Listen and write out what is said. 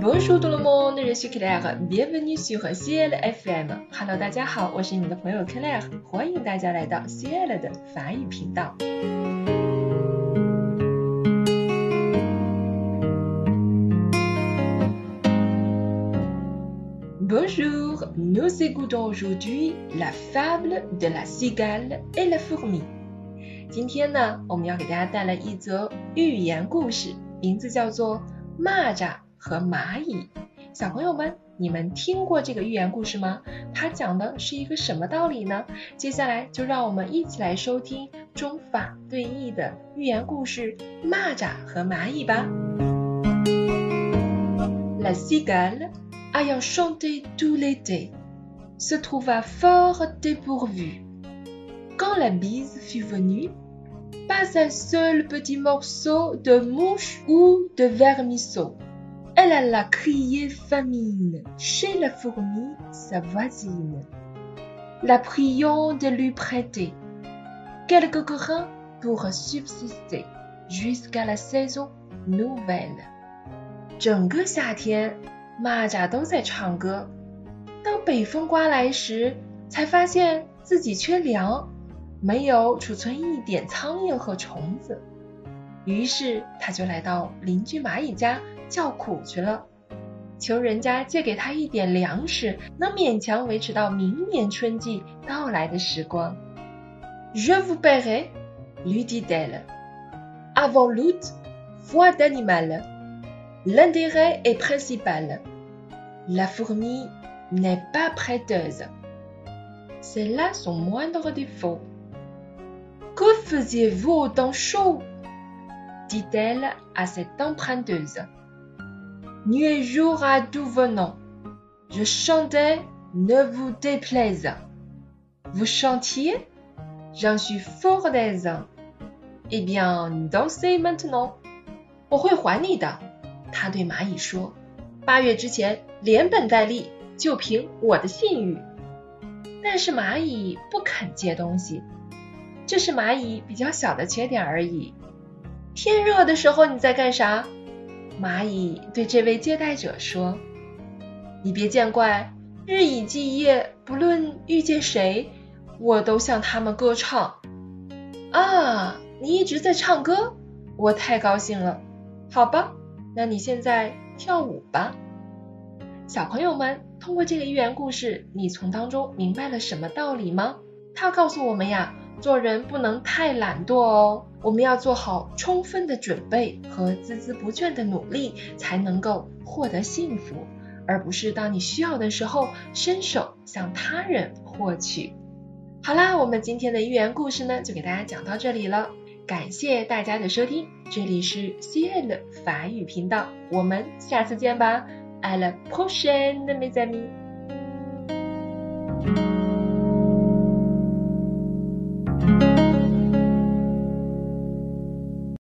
Bonjour tout le monde, je suis Claire, bienvenue sur Ciel FM。Hello， 大家好，我是你们的朋友 Claire， 欢迎大家来到 Ciel 的法语频道。Bonjour, nous écoutons aujourd'hui la fable de la cigale et la fourmi。今天呢，我们要给大家带来一则寓言故事，名字叫做蚂蚱和蚂蚁。小朋友们，你们听过这个寓言故事吗？它讲的是一个什么道理呢？接下来就让我们一起来收听中法对译的寓言故事《蚂蚱和蚂蚁》吧。La cigale, ayant chanté tout l'été, se trouva fort dépourvue. Quand la bise fut venue, pas un seul petit morceau de mouche ou de vermisseau.Elle alla crier famine chez la fourmi, sa voisine, la priant de lui prêter quelques grains pour subsister jusqu'à la saison nouvelle. 整个夏天，蚂蚱都在唱歌。当北风刮来时，才发现自己缺粮，没有储存一点苍蝇和虫子。于是他就来到邻居蚂蚁家叫苦去了，求人家借给他一点粮食，能勉强维持到明年春季到来的时光。Je vous paierai, lui dit-elle. Avant l'août, foi d'animal. L'intérêt est principal. La fourmi n'est pas prêteuse. C'est là son moindre défaut. Que faisiez-vous au temps chaud? Dit-elle à cette emprunteuse.Nuit et jour à tout venant, je chantais, ne vous déplaise. Vous chantiez, j'en suis fort aise. Eh bien, dansez maintenant. 我会还你的，他对蚂蚁说。8月之前，连本带利，就凭我的信誉。但是蚂蚁不肯借东西，这是蚂蚁比较小的缺点而已。天热的时候你在干啥？蚂蚁对这位接待者说，你别见怪，日以继夜，不论遇见谁，我都向他们歌唱。啊，你一直在唱歌？我太高兴了。好吧，那你现在跳舞吧。小朋友们，通过这个寓言故事，你从当中明白了什么道理吗？它告诉我们呀，做人不能太懒惰哦，我们要做好充分的准备和孜孜不倦的努力，才能够获得幸福，而不是当你需要的时候伸手向他人获取。好啦，我们今天的寓言故事呢，就给大家讲到这里了，感谢大家的收听，这里是 Ciel 法语频道，我们下次见吧。À la prochaine, mes amis!